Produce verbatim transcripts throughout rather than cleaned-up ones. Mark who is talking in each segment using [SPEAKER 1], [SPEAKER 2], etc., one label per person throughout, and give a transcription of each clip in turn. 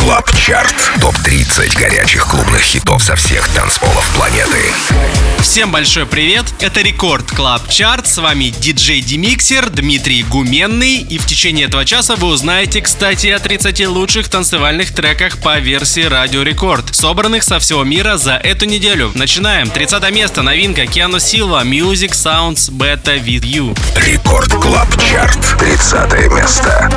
[SPEAKER 1] Клаб Чарт. топ тридцать горячих клубных хитов со всех танцполов планеты.
[SPEAKER 2] Всем большой привет, это Рекорд Клаб Чарт, с вами диджей Демиксер Дмитрий Гуменный. И в течение этого часа вы узнаете, кстати, о тридцати лучших танцевальных треках по версии Радио Рекорд, собранных со всего мира за эту неделю. Начинаем. тридцатое место, новинка Киану Силва, Music Sounds Better With You.
[SPEAKER 1] Рекорд Клаб Чарт. тридцатое место.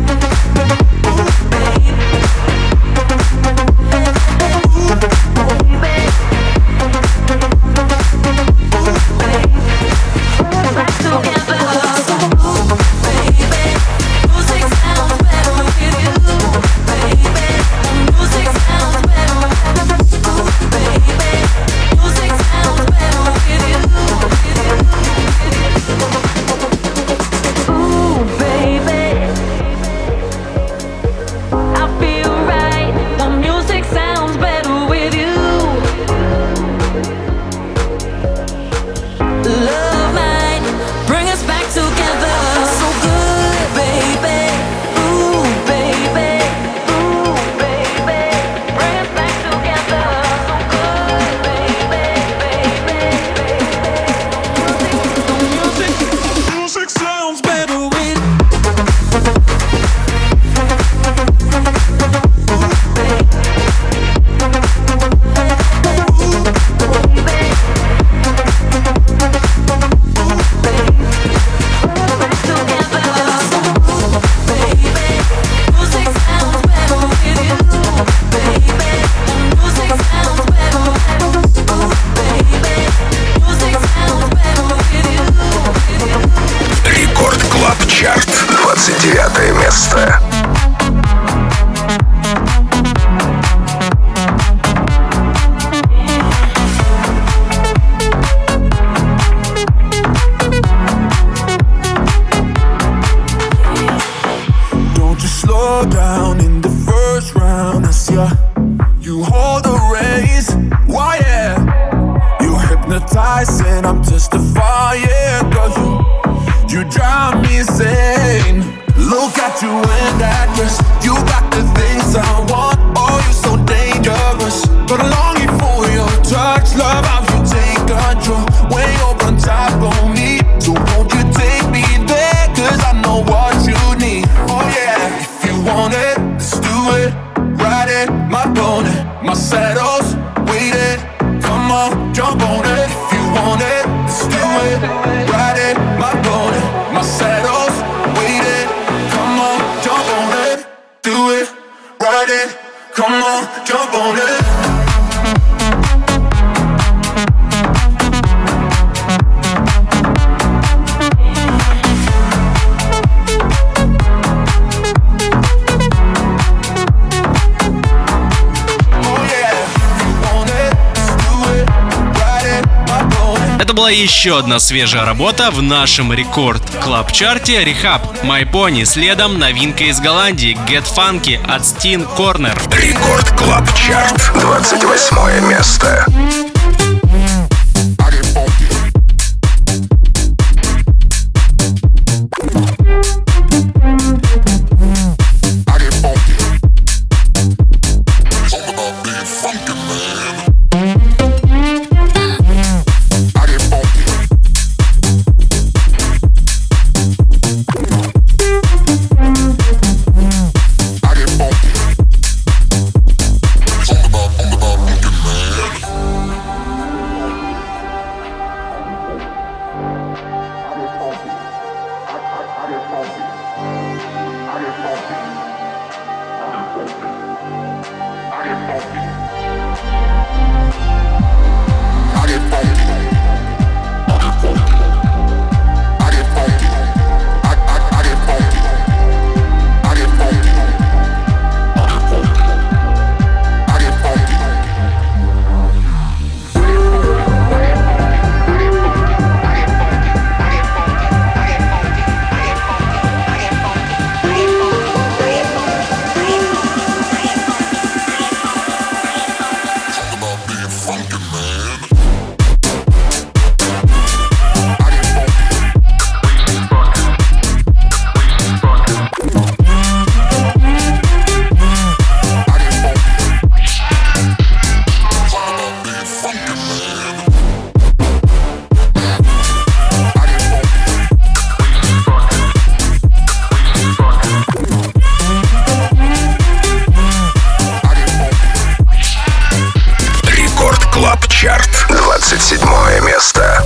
[SPEAKER 1] девятое место.
[SPEAKER 3] Don't you slow down in the first round. It's yeah, you hold the race. Why yeah, you hypnotizing. I'm testifying, girl. You you drive me insane. Look at you in that dress. You got the things I want. Oh, you're so dangerous. But I'm longing for your touch. Love how you take control. When you're on top of me. So won't you take me there? Cause I know what you need. Oh yeah, if you want it, let's do it. Ride it, my pony. My saddle's waiting. Come on, jump on it. If you want it, let's do it. Ride it, my pony. My saddle's waiting. Come on, jump on it. Do it, ride it. Come on, jump on it.
[SPEAKER 2] Это была еще одна свежая работа в нашем Рекорд Клаб Чарте. Rehab, My Pony, следом новинка из Голландии Get Funky от Steen Corner.
[SPEAKER 1] Рекорд Клаб Чарт, двадцать восьмое место. место.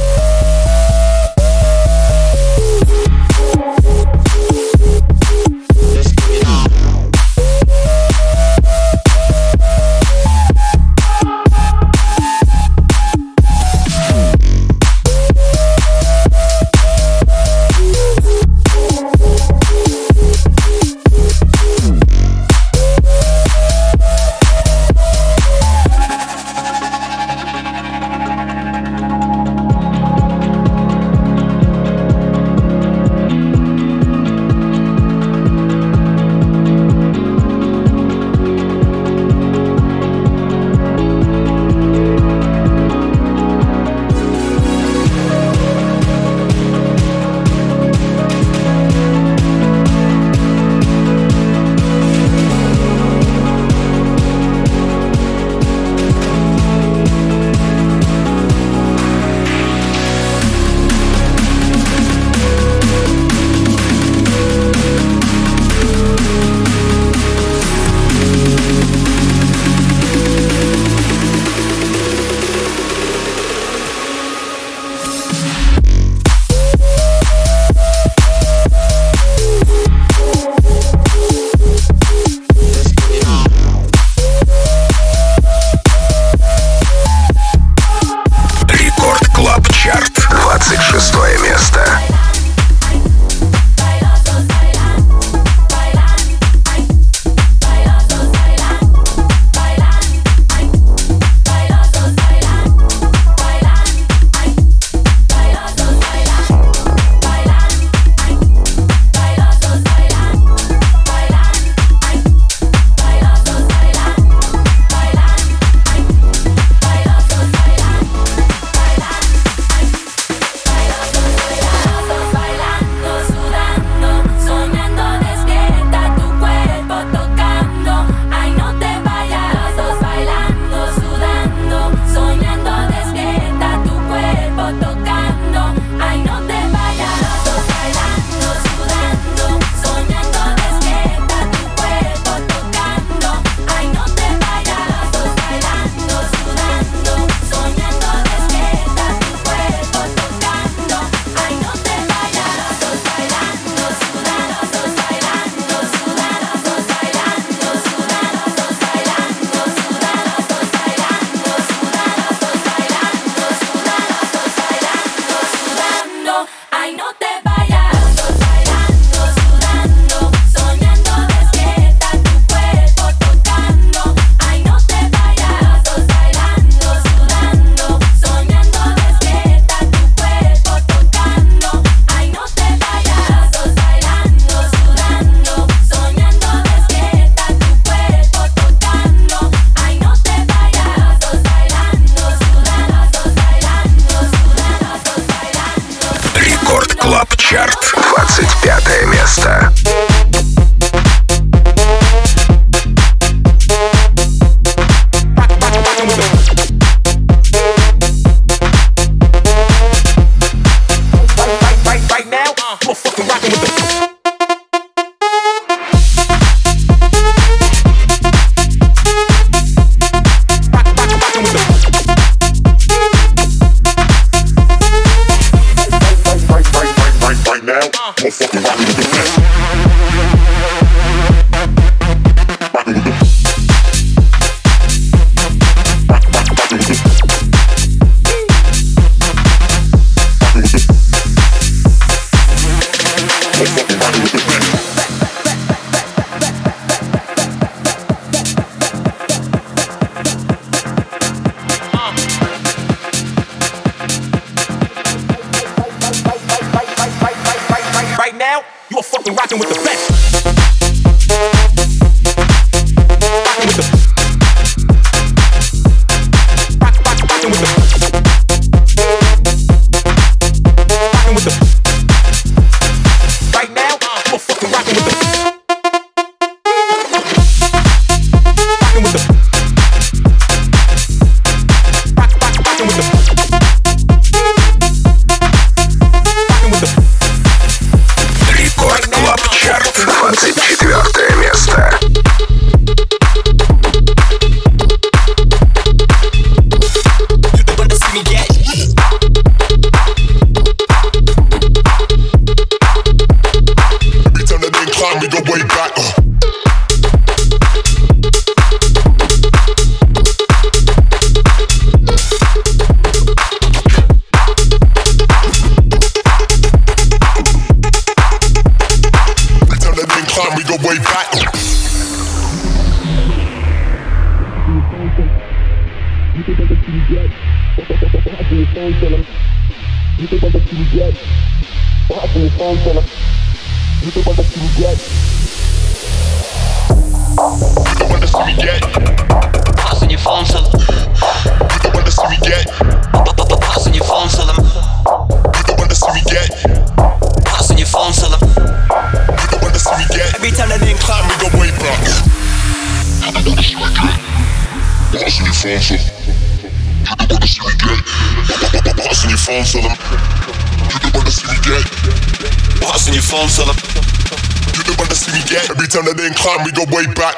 [SPEAKER 4] Passing your phone to them. You the one to see me get. Passing your phone to them. You the one to see me get. Passing your phone to them. You the one to see me get. Every time that they climb, we go way back. You the one to see me get. Passing your phone to them. You the one to see me get. Passing your phone to them. You the one to see me get. Passing your phone to them. You the one to see me get. Every time that they climb, we go way back.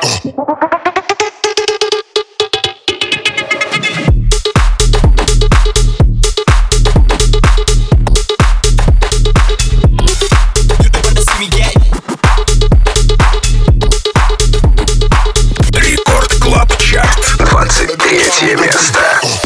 [SPEAKER 1] двадцать третье место.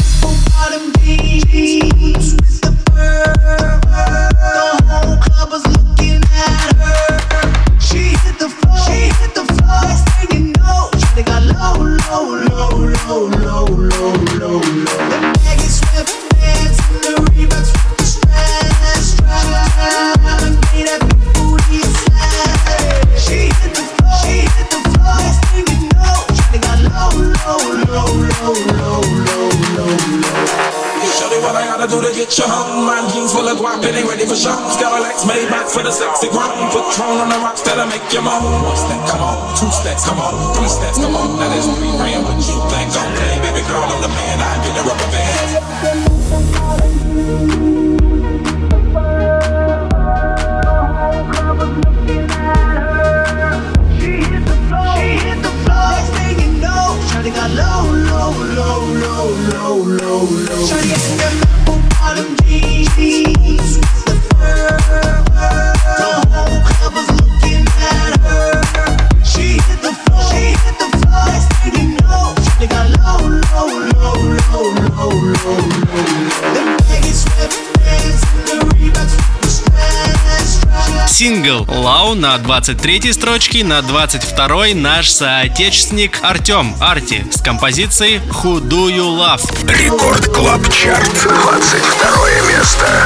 [SPEAKER 5] Your home, mind jeans full of guap, it ain't ready for shows. Cadillacs made back for the sexy grown. Put Tron on the rocks that'll make you moan. One step, come on, two steps, come on, three steps, come on. Now there's three grand, what you think gon' play? Baby girl, I'm the man, I get the rubber band. She hit the floor, she hit the floor. Next thing you know, Shawty got low, low, low, low, low, low, low. Shawty got them bottom jeans with the fur. The whole club was looking at her. She hit the floor, she hit the floor. Next thing you know, Shawty got low, low, low, low, low, low, low. Them baggy sweatpants and the Reeboks with the stretch, stretch.
[SPEAKER 2] Сингл «Лау» на двадцать третьей строчке, на двадцать второй наш соотечественник Артем Арти с композицией «Who Do You Love».
[SPEAKER 1] Рекорд Клаб Чарт, двадцать второе место.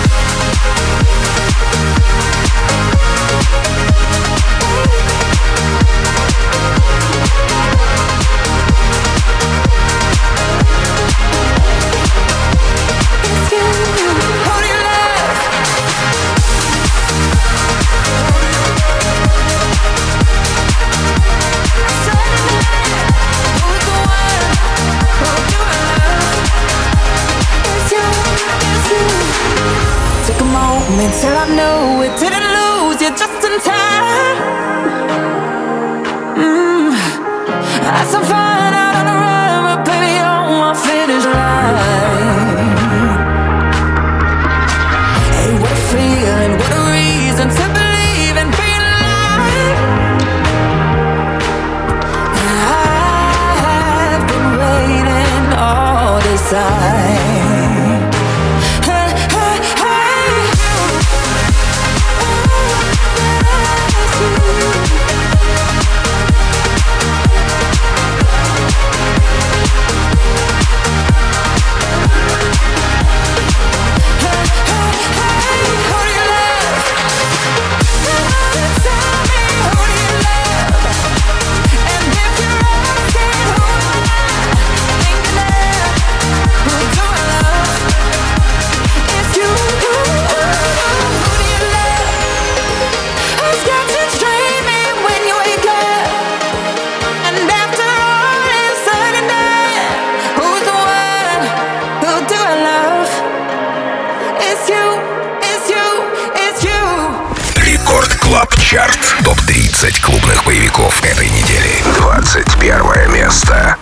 [SPEAKER 6] Till I knew it, didn't lose you just in time. Mm. Had some fun out on the run, but baby, you're on my finish line. Hey, what a feeling, what a reason to believe in being alive. I've been waiting all this time.
[SPEAKER 1] Чарт. топ тридцать клубных боевиков этой недели. двадцать первое место.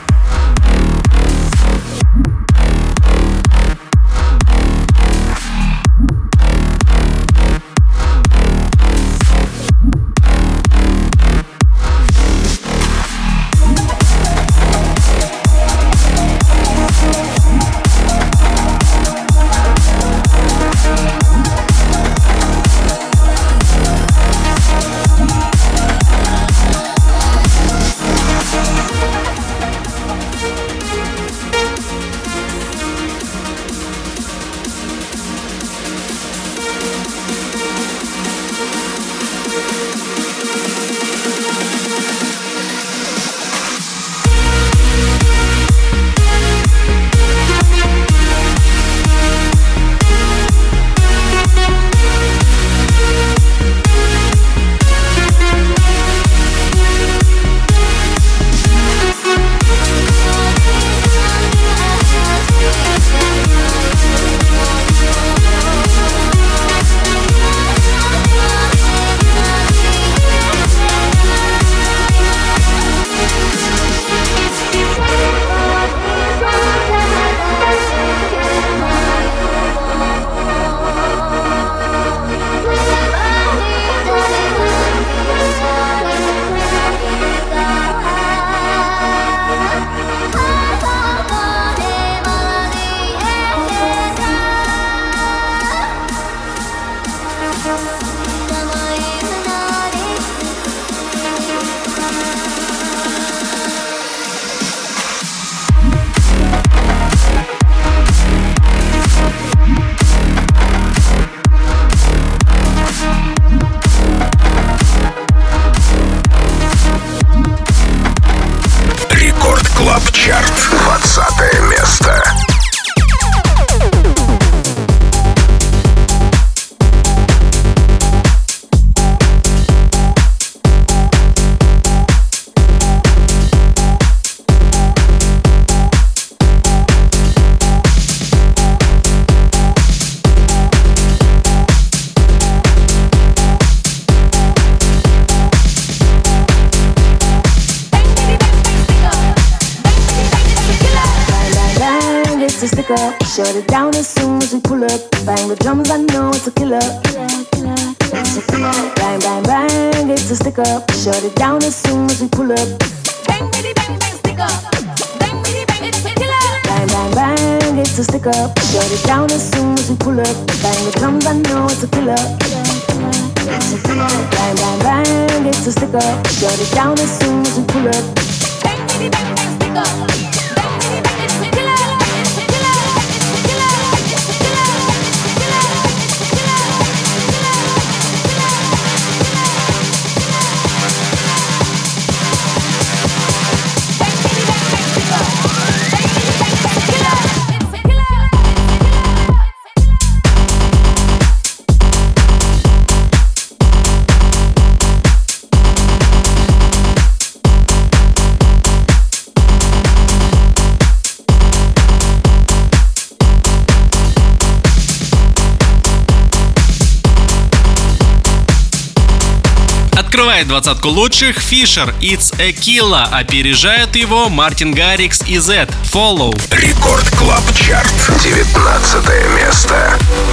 [SPEAKER 1] Клаб Чарт, двадцатое место.
[SPEAKER 6] Shut it down as soon as we pull up. Bang the drums, I know it's a killer. It's a killer. Bang, bang, bang, it's a stick up. Shut it down as soon as we pull up. Bang, bitty, bang, bang, stick up. Bang, bitty, bang, it's a killer. Bang, bang, bang, it's a stick up. Shut it down as soon as we pull up. Bang the drums, I know it's a killer. It's a killer. Bang, bang, bang, it's a stick up. Shut it down as soon as we pull up. Bang, bitty, bang, bang, stick up.
[SPEAKER 2] Открывает двадцатку лучших Fisher It's a Killa, опережает его Мартин Гаррикс и Z Follow.
[SPEAKER 1] Рекорд Клаб Чарт, девятнадцатое место.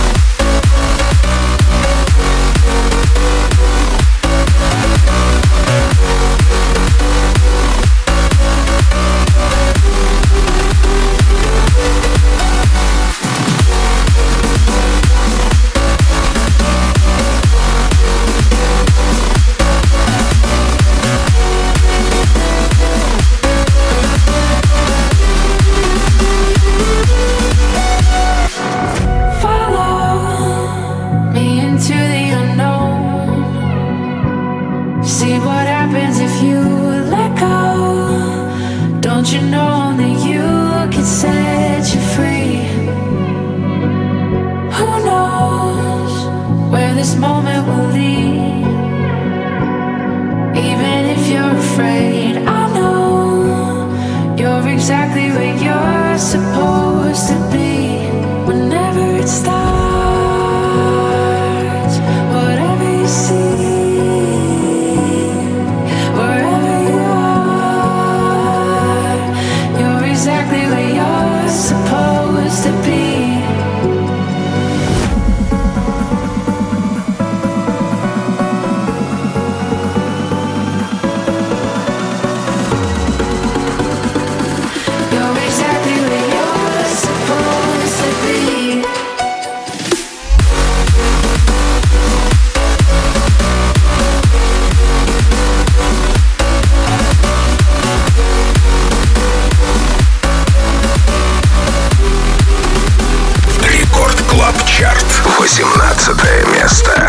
[SPEAKER 1] восемнадцатое место.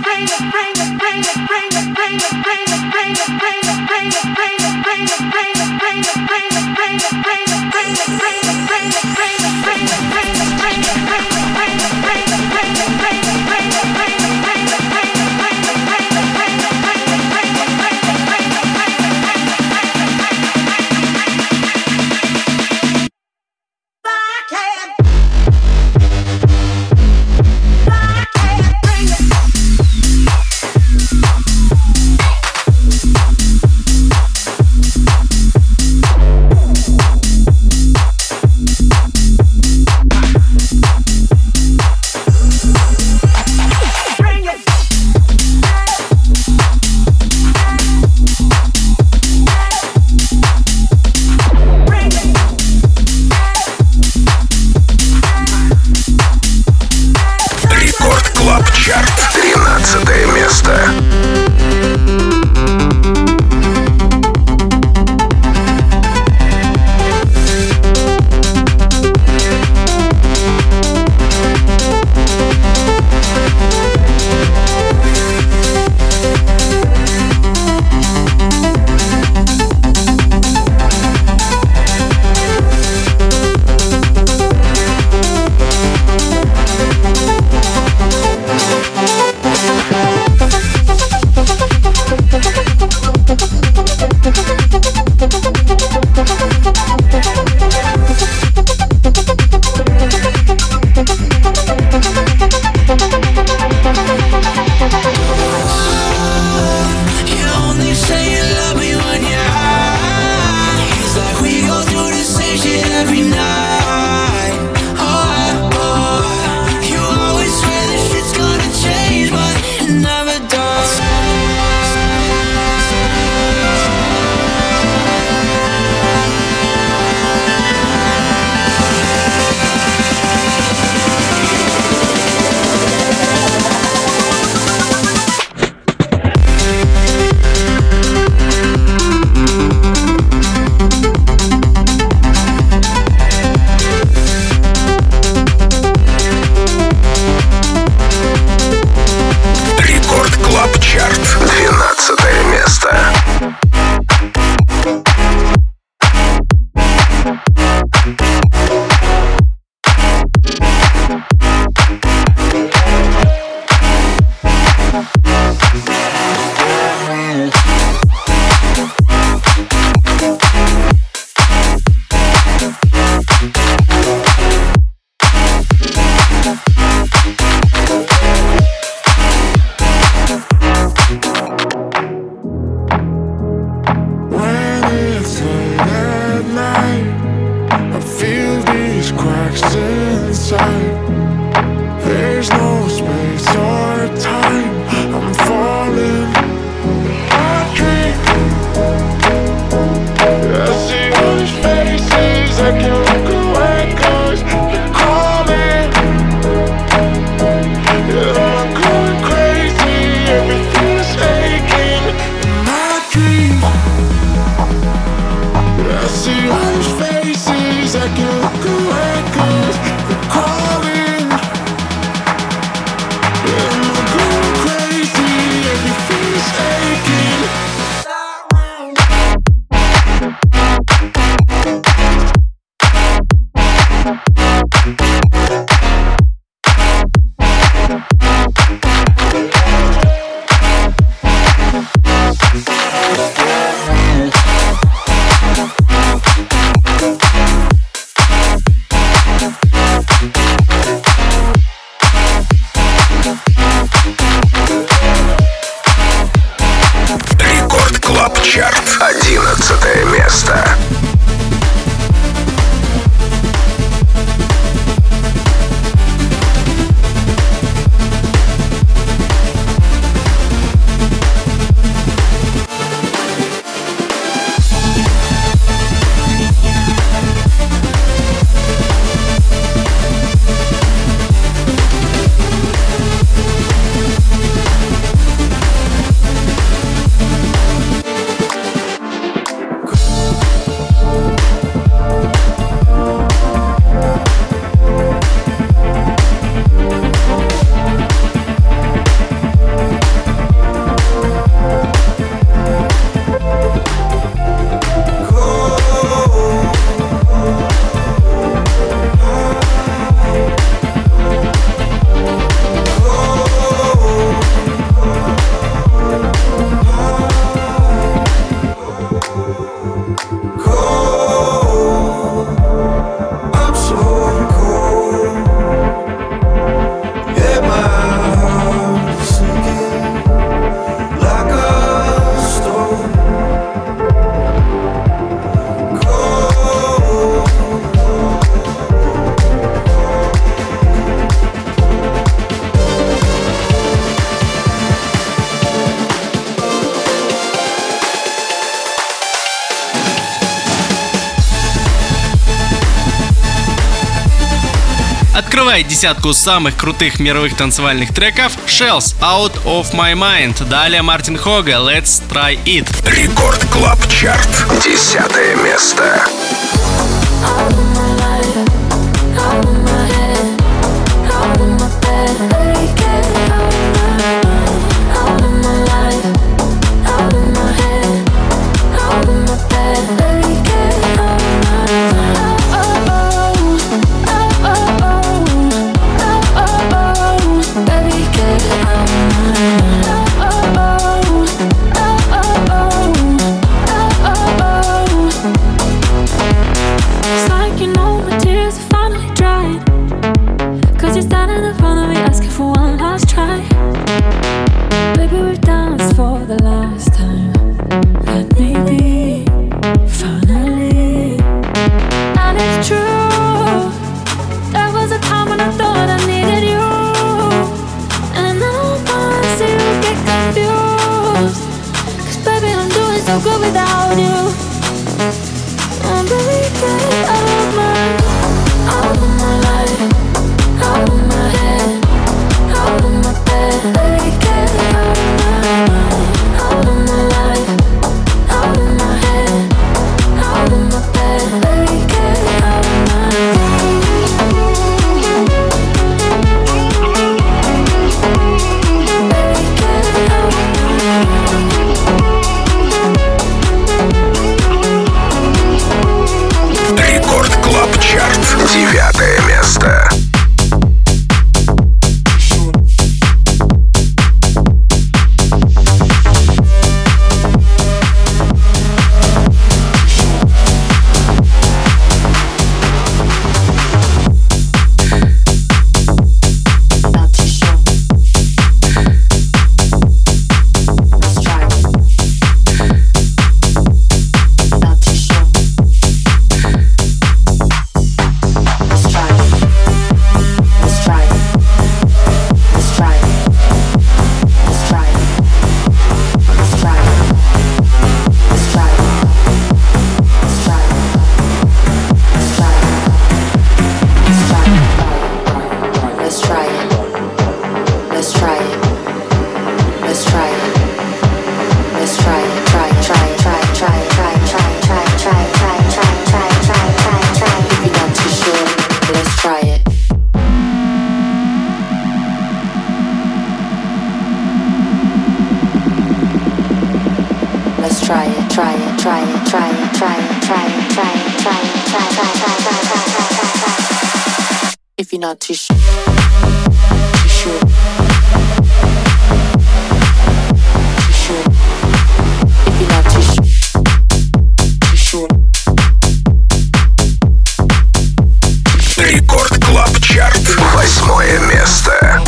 [SPEAKER 1] Чарт. тринадцатое место.
[SPEAKER 2] Открывает десятку самых крутых мировых танцевальных треков Shells Out of My Mind. Далее Мартин Хога Let's Try It.
[SPEAKER 1] Рекорд Клаб Чарт. Десятое место.
[SPEAKER 7] If you're not too sure, too sure, too sure. If you're not too sure, too sure.
[SPEAKER 1] Рекорд Клаб Чарт. Восьмое место.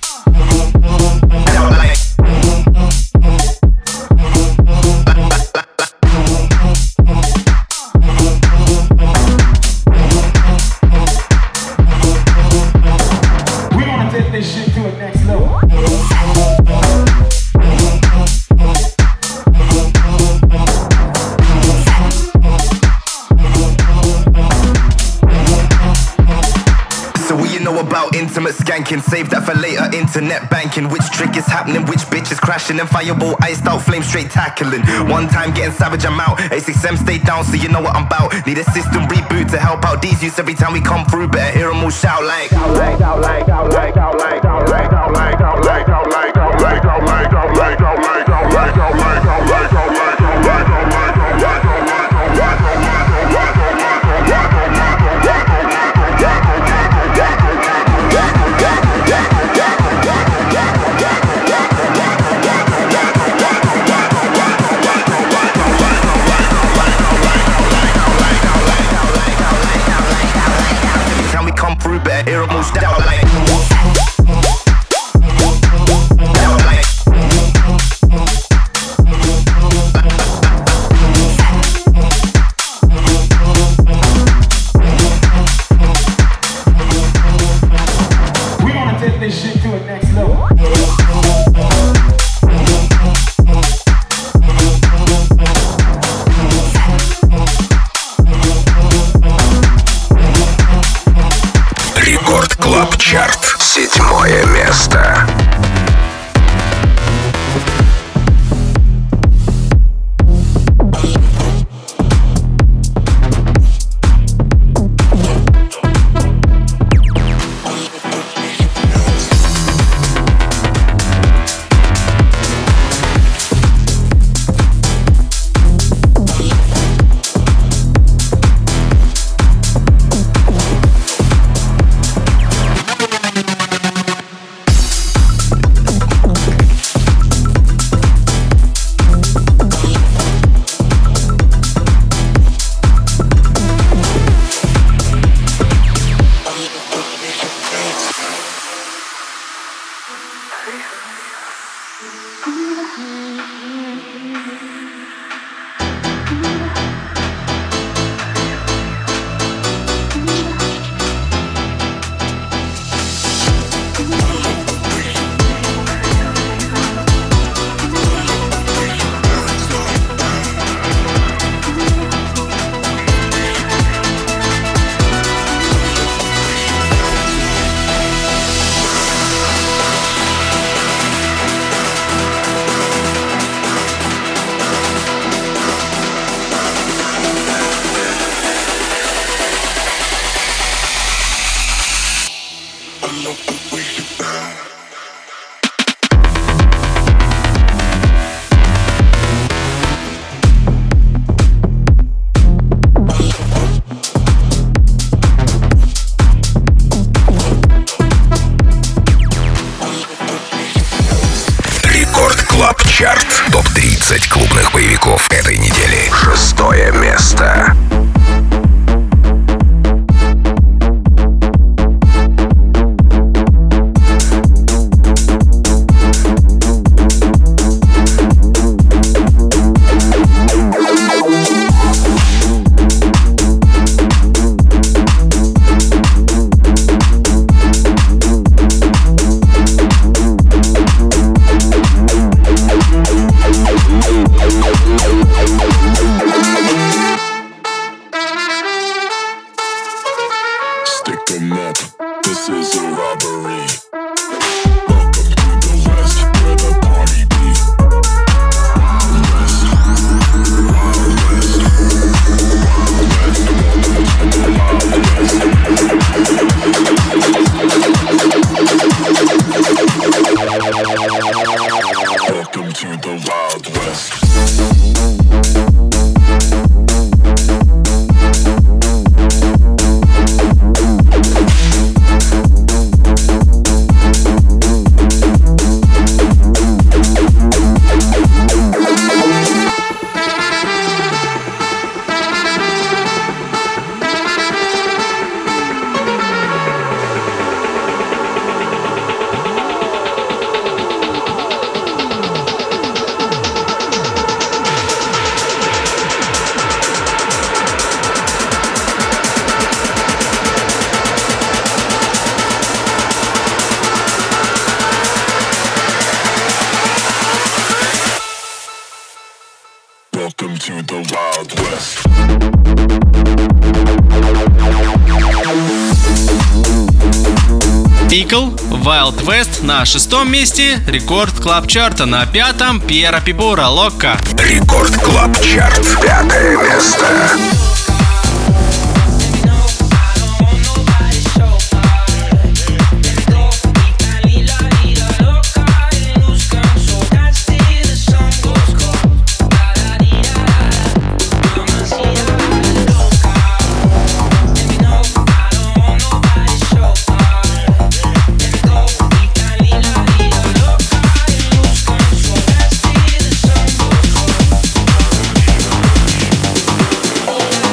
[SPEAKER 8] Intimate skanking, save that for later. Internet banking, which trick is happening, which bitch is crashing, and fireball iced out, flame straight tackling. One time getting savage, I'm out. A six M stay down, so you know what I'm about. Need a system reboot to help out these youths every time we come through. Better hear them all shout like, out like, out like, out like, out like, out like, out like, out like, out like, out like, out like, out like, out like, out like, out like, out like, out like. Better hear them all shout like. We gonna take this shit to the next level.
[SPEAKER 1] Рекорд Клаб Чарт. топ тридцать клубных боевиков этой недели. Шестое место.
[SPEAKER 2] Пикл, Wild West на шестом месте, рекорд клаб чарта на пятом, Пьера Пибура, Локка.
[SPEAKER 1] Рекорд клаб чарт, пятое место.
[SPEAKER 6] Oh,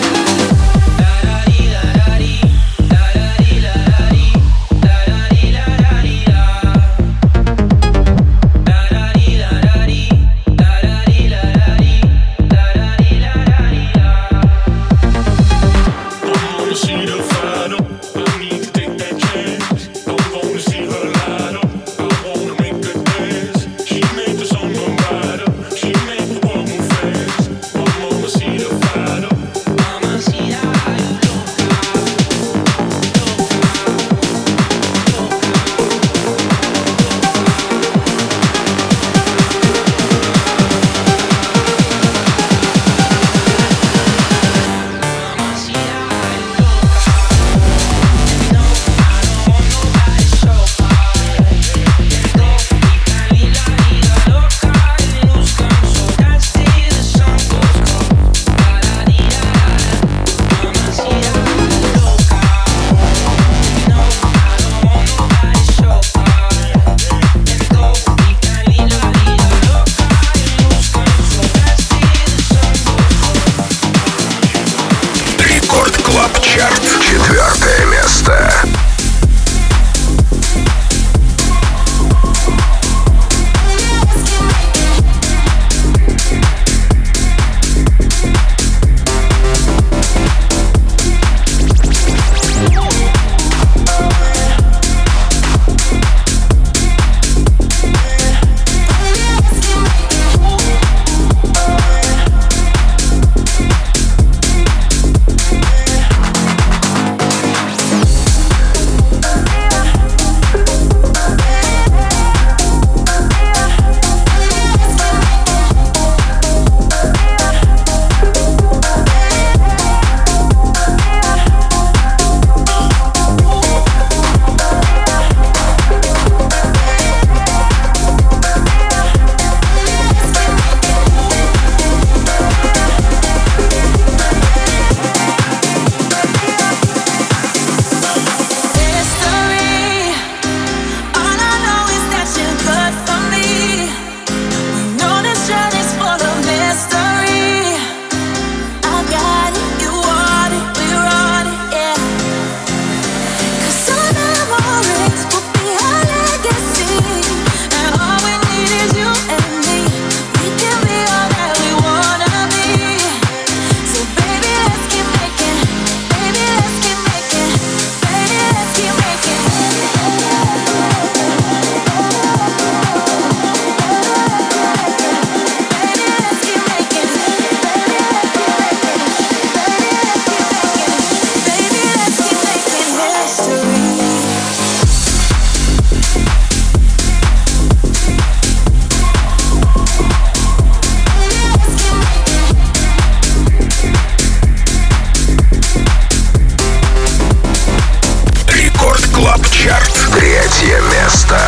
[SPEAKER 1] место.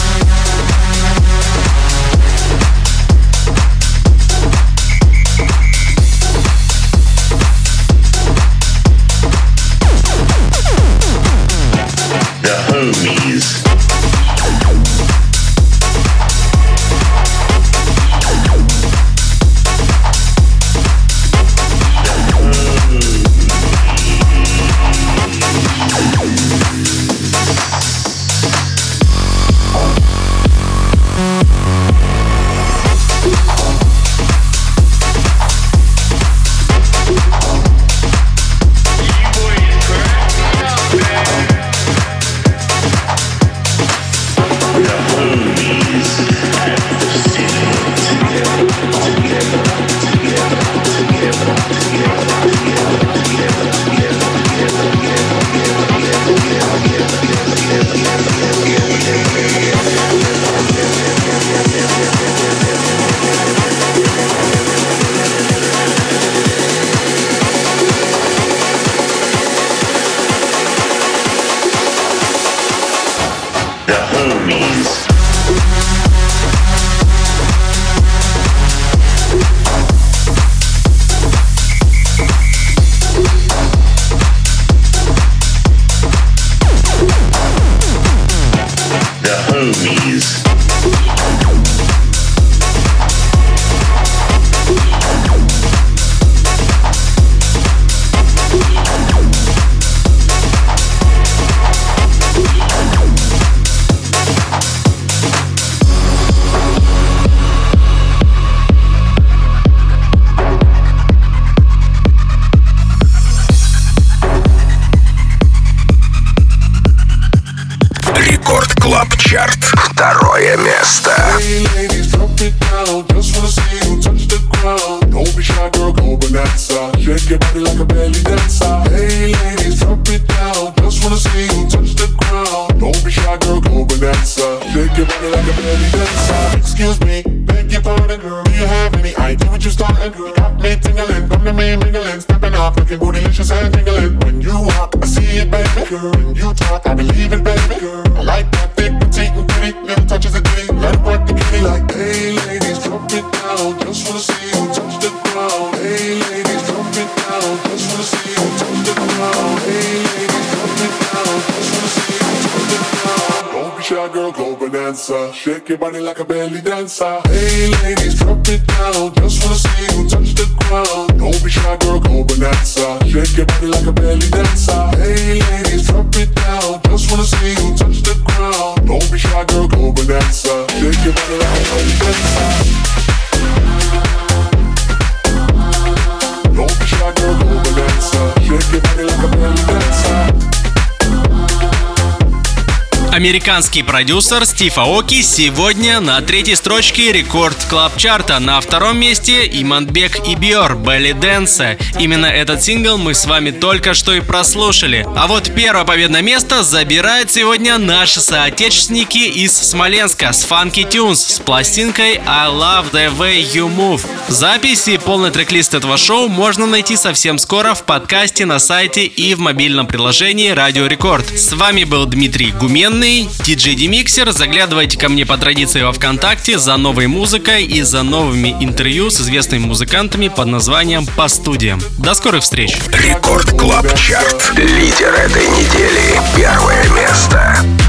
[SPEAKER 4] The homies.
[SPEAKER 1] Чарт. Второе место.
[SPEAKER 3] Hey ladies, drop it down. Just wanna see you touch the ground. Don't be shy, girl, go bonanza. Shake your body like a belly dancer. Hey ladies, drop it down. Just wanna see you touch the ground. Don't be shy, girl, go bonanza. Shake your body like a belly dancer. Excuse me, beg your pardon, girl. Do you have any idea what you're starting, girl? Got me tingling, come to me mingling, stepping off, looking bootylicious and tingling. When you walk, I see it, baby, girl. When you talk, I believe it, baby, girl. I like that thick, petite, and pretty, little touches of ditty. Let it work the kitty like, hey ladies, drop it down. Just wanna see you touch the ground. Hey ladies, drop it down. Just wanna see you touch the ground. Hey ladies, drop it down. Just wanna see you touch the ground. Don't be shy, girl, go bonanza. Shake your body like a belly dancer. Hey ladies, drop it down. Just wanna see you touch the ground. Don't be shy, girl, go bonanza. Shake your body like a belly dancer. Hey ladies, drop it down. Just wanna see you touch the ground. Don't be shy, girl, go bonanza. Shake your body like a belly dancer. Don't be shy, girl, go bonanza. Shake your body like a belly dancer.
[SPEAKER 2] Американский продюсер Стив Аоки сегодня на третьей строчке Рекорд Клаб Чарта. На втором месте Иманбек и Биор Belly Dance. Именно этот сингл мы с вами только что и прослушали. А вот первое победное место забирают сегодня наши соотечественники из Смоленска с Funky Tunes с пластинкой I Love The Way You Move. Записи и полный трек-лист этого шоу можно найти совсем скоро в подкасте на сайте и в мобильном приложении Радио Рекорд. С вами был Дмитрий Гуменный, диджей Демиксер. Заглядывайте ко мне по традиции во ВКонтакте за новой музыкой и за новыми интервью с известными музыкантами под названием «По студиям». До скорых встреч!
[SPEAKER 1] Рекорд Клаб Чарт. Лидер этой недели. Первое место.